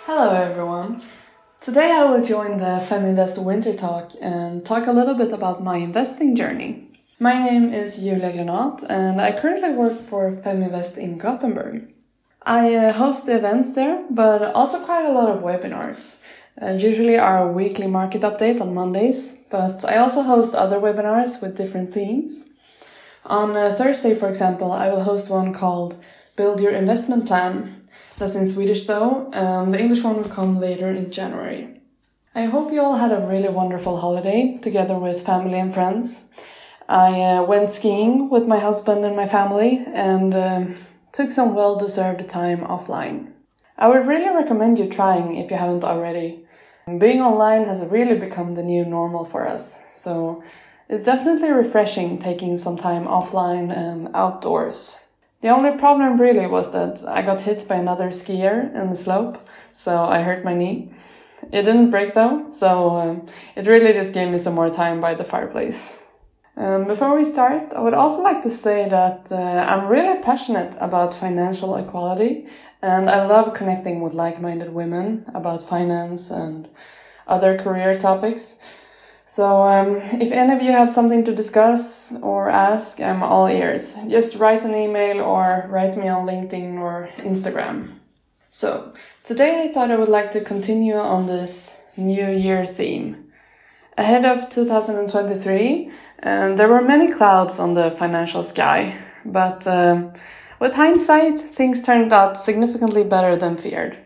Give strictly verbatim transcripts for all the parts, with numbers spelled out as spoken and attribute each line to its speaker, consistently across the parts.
Speaker 1: Hello everyone! Today I will join the Feminvest Winter Talk and talk a little bit about my investing journey. My name is Julia Granat and I currently work for Feminvest in Gothenburg. I uh, host the events there, but also quite a lot of webinars. Uh, usually our weekly market update on Mondays, but I also host other webinars with different themes. On uh, Thursday, for example, I will host one called Build Your Investment Plan. That's in Swedish though, um, the English one will come later in January. I hope you all had a really wonderful holiday together with family and friends. I uh, went skiing with my husband and my family and uh, took some well-deserved time offline. I would really recommend you trying if you haven't already. Being online has really become the new normal for us, so it's definitely refreshing taking some time offline and outdoors. The only problem really was that I got hit by another skier in the slope, so I hurt my knee. It didn't break though, so um, it really just gave me some more time by the fireplace. Um, before we start, I would also like to say that uh, I'm really passionate about financial equality, and I love connecting with like-minded women about finance and other career topics. So um, if any of you have something to discuss or ask, I'm all ears. Just write an email or write me on LinkedIn or Instagram. So today I thought I would like to continue on this New Year theme. Ahead of two thousand twenty-three, um, there were many clouds on the financial sky, but um, with hindsight, things turned out significantly better than feared.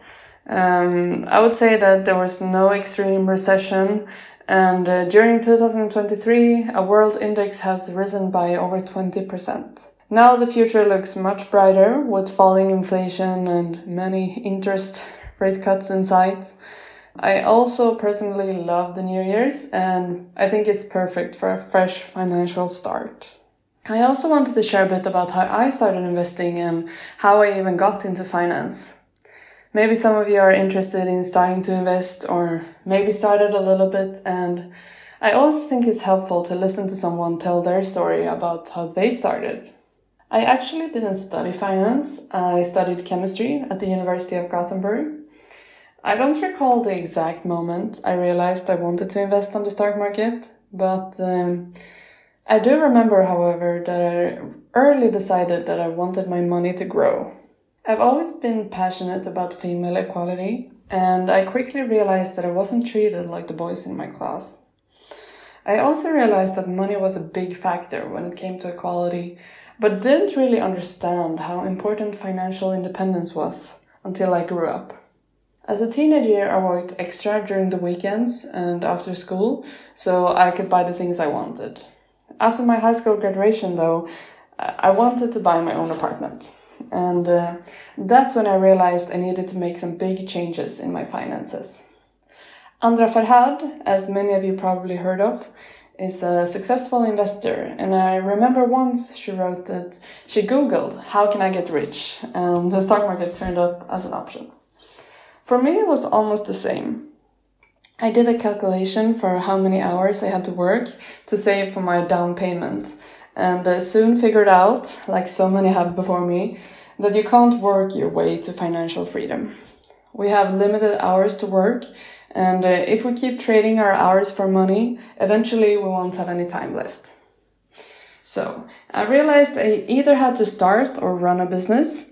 Speaker 1: Um, I would say that there was no extreme recession. And uh, during two thousand twenty-three, a world index has risen by over twenty percent. Now the future looks much brighter with falling inflation and many interest rate cuts in sight. I also personally love the New Year's and I think it's perfect for a fresh financial start. I also wanted to share a bit about how I started investing and how I even got into finance. Maybe some of you are interested in starting to invest or maybe started a little bit, and I always think it's helpful to listen to someone tell their story about how they started. I actually didn't study finance. I studied chemistry at the University of Gothenburg. I don't recall the exact moment I realized I wanted to invest on the stock market, but um, I do remember, however, that I early decided that I wanted my money to grow. I've always been passionate about female equality, and I quickly realized that I wasn't treated like the boys in my class. I also realized that money was a big factor when it came to equality, but didn't really understand how important financial independence was until I grew up. As a teenager, I worked extra during the weekends and after school, so I could buy the things I wanted. After my high school graduation, though, I wanted to buy my own apartment. And uh, that's when I realized I needed to make some big changes in my finances. Andra Farhad, as many of you probably heard of, is a successful investor. And I remember once she wrote that she Googled, how can I get rich? And the stock market turned up as an option. For me, it was almost the same. I did a calculation for how many hours I had to work to save for my down payment. And uh, soon figured out, like so many have before me, that you can't work your way to financial freedom. We have limited hours to work, and uh, if we keep trading our hours for money, eventually we won't have any time left. So I realized I either had to start or run a business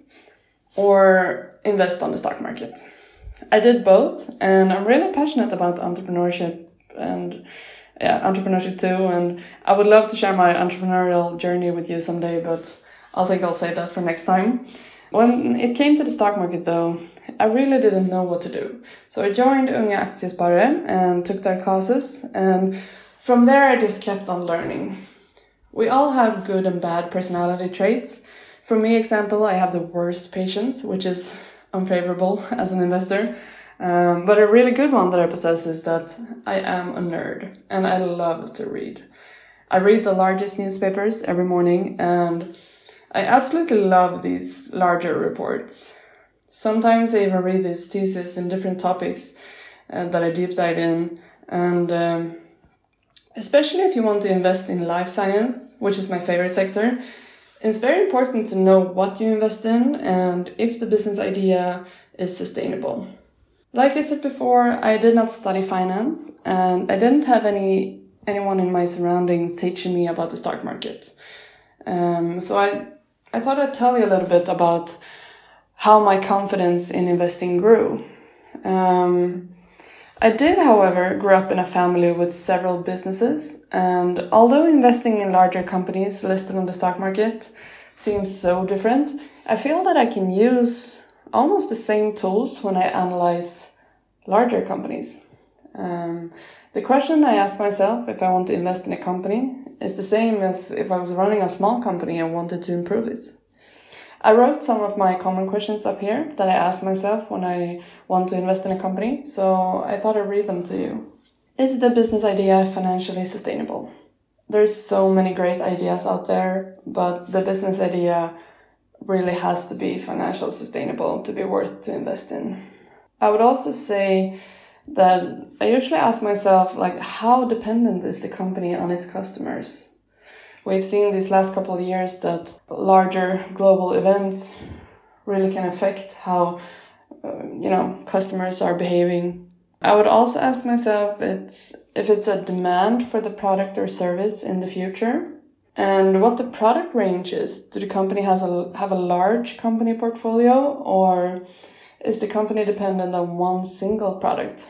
Speaker 1: or invest on the stock market. I did both, and I'm really passionate about entrepreneurship and Yeah, entrepreneurship too, and I would love to share my entrepreneurial journey with you someday, but I think I'll save that for next time. When it came to the stock market though, I really didn't know what to do. So I joined Unga Aktiesparare and took their classes, and from there I just kept on learning. We all have good and bad personality traits. For me, example, I have the worst patience, which is unfavorable as an investor. Um, but a really good one that I possess is that I am a nerd and I love to read. I read the largest newspapers every morning and I absolutely love these larger reports. Sometimes I even read these theses in different topics uh, that I deep dive in, and um, especially if you want to invest in life science, which is my favorite sector, it's very important to know what you invest in and if the business idea is sustainable. Like I said before, I did not study finance, and I didn't have any anyone in my surroundings teaching me about the stock market. Um, so I, I thought I'd tell you a little bit about how my confidence in investing grew. Um, I did, however, grow up in a family with several businesses, and although investing in larger companies listed on the stock market seems so different, I feel that I can use almost the same tools when I analyze larger companies. Um, the question I ask myself if I want to invest in a company is the same as if I was running a small company and wanted to improve it. I wrote some of my common questions up here that I ask myself when I want to invest in a company, so I thought I'd read them to you. Is the business idea financially sustainable? There's so many great ideas out there, but the business idea really has to be financially sustainable to be worth to invest in. I would also say that I usually ask myself, like, how dependent is the company on its customers? We've seen these last couple of years that larger global events really can affect how, uh, you know, customers are behaving. I would also ask myself it's, if it's a demand for the product or service in the future, and what the product range is. Do the company has a, have a large company portfolio, or is the company dependent on one single product?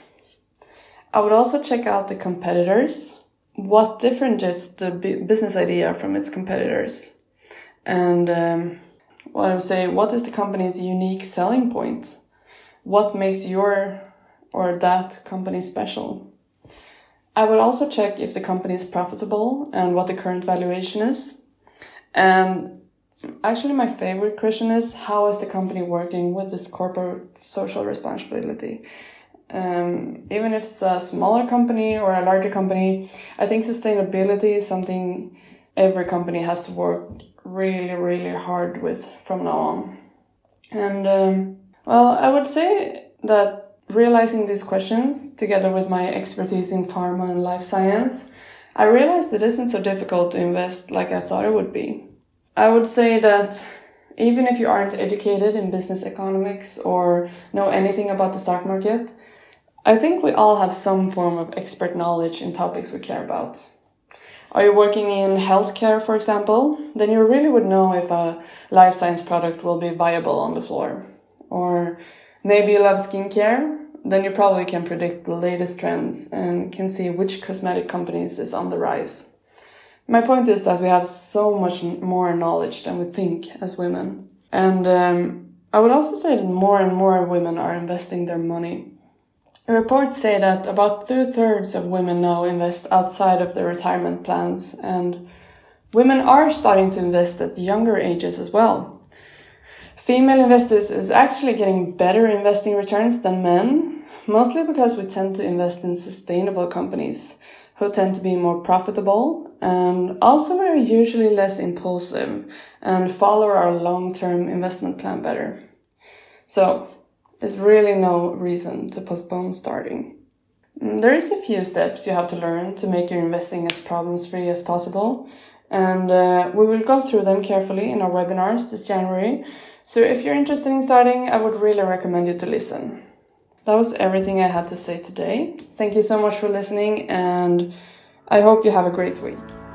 Speaker 1: I would also check out the competitors. What differentiates the business idea from its competitors? And um, what I would say, what is the company's unique selling point? What makes your or that company special? I would also check if the company is profitable and what the current valuation is. And actually my favorite question is, how is the company working with this corporate social responsibility? Um, even if it's a smaller company or a larger company, I think sustainability is something every company has to work really, really hard with from now on. And, um, well, I would say that realizing these questions, together with my expertise in pharma and life science, I realized it isn't so difficult to invest like I thought it would be. I would say that even if you aren't educated in business economics or know anything about the stock market, I think we all have some form of expert knowledge in topics we care about. Are you working in healthcare, for example? Then you really would know if a life science product will be viable on the floor. Or maybe you love skincare? Then you probably can predict the latest trends and can see which cosmetic companies is on the rise. My point is that we have so much more knowledge than we think as women. And um, I would also say that more and more women are investing their money. Reports say that about two-thirds of women now invest outside of their retirement plans, and women are starting to invest at younger ages as well. Female investors is actually getting better investing returns than men, mostly because we tend to invest in sustainable companies who tend to be more profitable, and also we're usually less impulsive and follow our long-term investment plan better. So, there's really no reason to postpone starting. There is a few steps you have to learn to make your investing as problem-free as possible, and uh, we will go through them carefully in our webinars this January. So if you're interested in starting, I would really recommend you to listen. That was everything I had to say today. Thank you so much for listening, and I hope you have a great week.